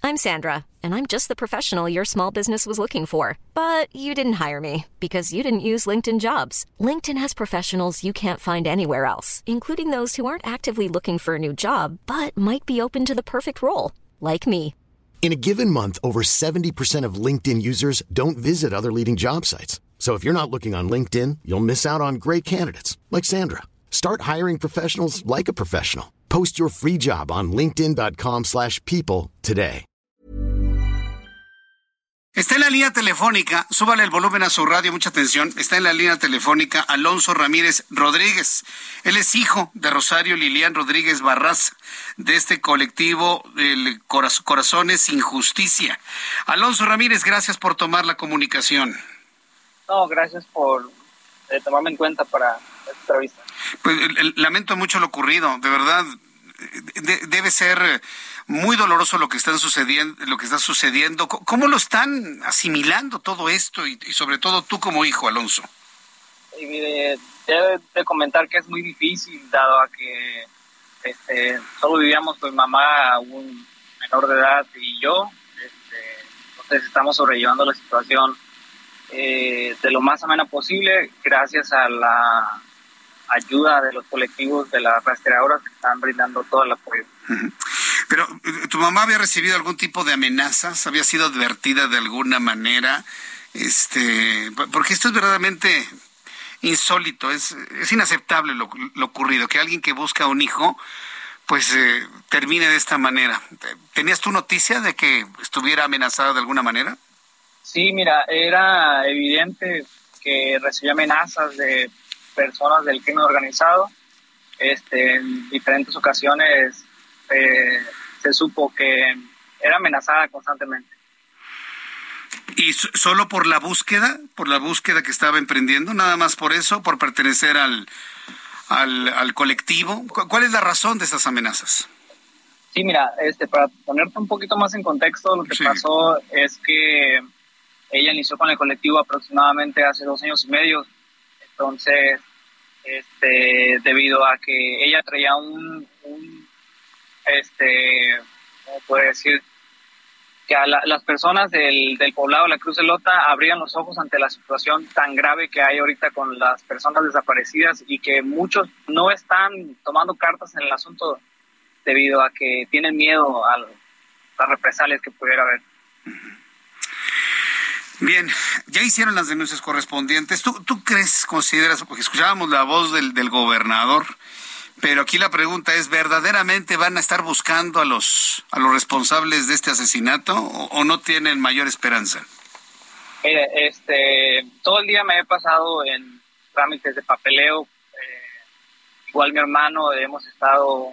I'm Sandra, and I'm just the professional your small business was looking for. But you didn't hire me because you didn't use LinkedIn Jobs. LinkedIn has professionals you can't find anywhere else, including those who aren't actively looking for a new job, but might be open to the perfect role, like me. In a given month, over 70% of LinkedIn users don't visit other leading job sites. So if you're not looking on LinkedIn, you'll miss out on great candidates like Sandra. Start hiring professionals like a professional. Post your free job on linkedin.com/people today. Está en la línea telefónica, súbale el volumen a su radio, mucha atención. Está en la línea telefónica Alonso Ramírez Rodríguez. Él es hijo de Rosario Lilian Rodríguez Barraza, de este colectivo el Corazones sin Justicia. Alonso Ramírez, gracias por tomar la comunicación. No, gracias por tomarme en cuenta para esta entrevista. Pues lamento mucho lo ocurrido, de verdad. Debe ser muy doloroso lo que está sucediendo. ¿Cómo lo están asimilando todo esto y sobre todo tú como hijo, Alonso? Y mire, debo de comentar que es muy difícil, dado a que solo vivíamos con mi mamá, un menor de edad y yo. Entonces estamos sobrellevando la situación de lo más amena posible, gracias a la ayuda de los colectivos de las rastreadoras que están brindando todo el apoyo. Pero, ¿tu mamá había recibido algún tipo de amenazas? ¿Había sido advertida de alguna manera? Porque esto es verdaderamente insólito, es inaceptable lo ocurrido, que alguien que busca a un hijo, pues termine de esta manera. ¿Tenías tú noticia de que estuviera amenazada de alguna manera? Sí, mira, era evidente que recibía amenazas de personas del crimen organizado. En diferentes ocasiones se supo que era amenazada constantemente. ¿Y solo por la búsqueda que estaba emprendiendo? ¿Nada más por eso, por pertenecer al colectivo? ¿Cuál es la razón de esas amenazas? Sí, mira, para ponerte un poquito más en contexto, lo que pasó es que ella inició con el colectivo aproximadamente hace 2 años y medio. Entonces, debido a que ella traía ¿cómo puedo decir? Que a las personas del poblado de la Cruz de Lota abrían los ojos ante la situación tan grave que hay ahorita con las personas desaparecidas, y que muchos no están tomando cartas en el asunto debido a que tienen miedo a las represalias que pudiera haber. Bien, ya hicieron las denuncias correspondientes. ¿Tú consideras, porque escuchábamos la voz del gobernador, pero aquí la pregunta es, ¿verdaderamente van a estar buscando a los responsables de este asesinato o no tienen mayor esperanza? Mire, todo el día me he pasado en trámites de papeleo. Igual mi hermano hemos estado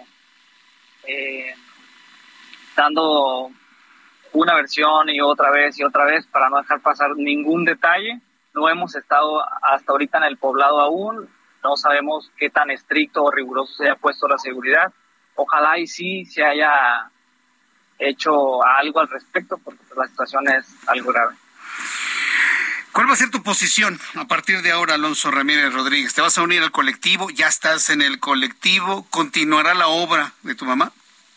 dando una versión y otra vez para no dejar pasar ningún detalle. No hemos estado hasta ahorita en el poblado aún. No sabemos qué tan estricto o riguroso se haya puesto la seguridad. Ojalá y sí se haya hecho algo al respecto, porque la situación es algo grave. ¿Cuál va a ser tu posición a partir de ahora, Alonso Ramírez Rodríguez? ¿Te vas a unir al colectivo? ¿Ya estás en el colectivo? ¿Continuará la obra de tu mamá?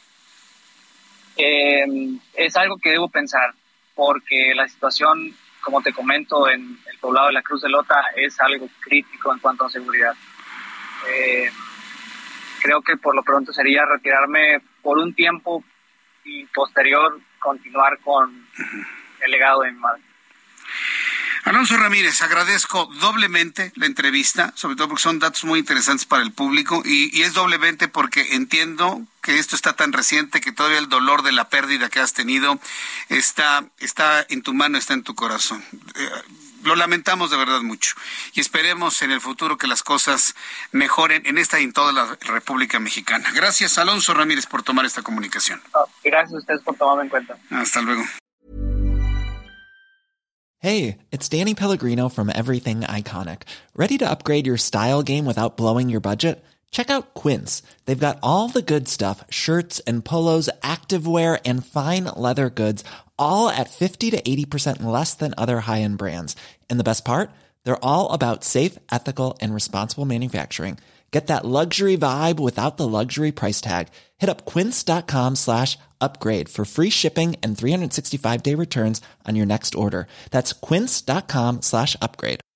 Es algo que debo pensar, porque la situación, como te comento, en el poblado de la Cruz de Lota es algo crítico en cuanto a seguridad. Creo que por lo pronto sería retirarme por un tiempo y posterior continuar con el legado de mi madre. Alonso Ramírez, agradezco doblemente la entrevista, sobre todo porque son datos muy interesantes para el público, y es doblemente porque entiendo que esto está tan reciente que todavía el dolor de la pérdida que has tenido está en tu mano, está en tu corazón. Lo lamentamos de verdad mucho y esperemos en el futuro que las cosas mejoren en esta y en toda la República Mexicana. Gracias, Alonso Ramírez, por tomar esta comunicación. Gracias a ustedes por tomarme en cuenta. Hasta luego. Hey, it's Danny Pellegrino from Everything Iconic. Ready to upgrade your style game without blowing your budget? Check out Quince. They've got all the good stuff, shirts and polos, activewear, and fine leather goods, all at 50 to 80% less than other high-end brands. And the best part? They're all about safe, ethical, and responsible manufacturing. Get that luxury vibe without the luxury price tag. Hit up quince.com/upgrade for free shipping and 365-day returns on your next order. That's quince.com/upgrade.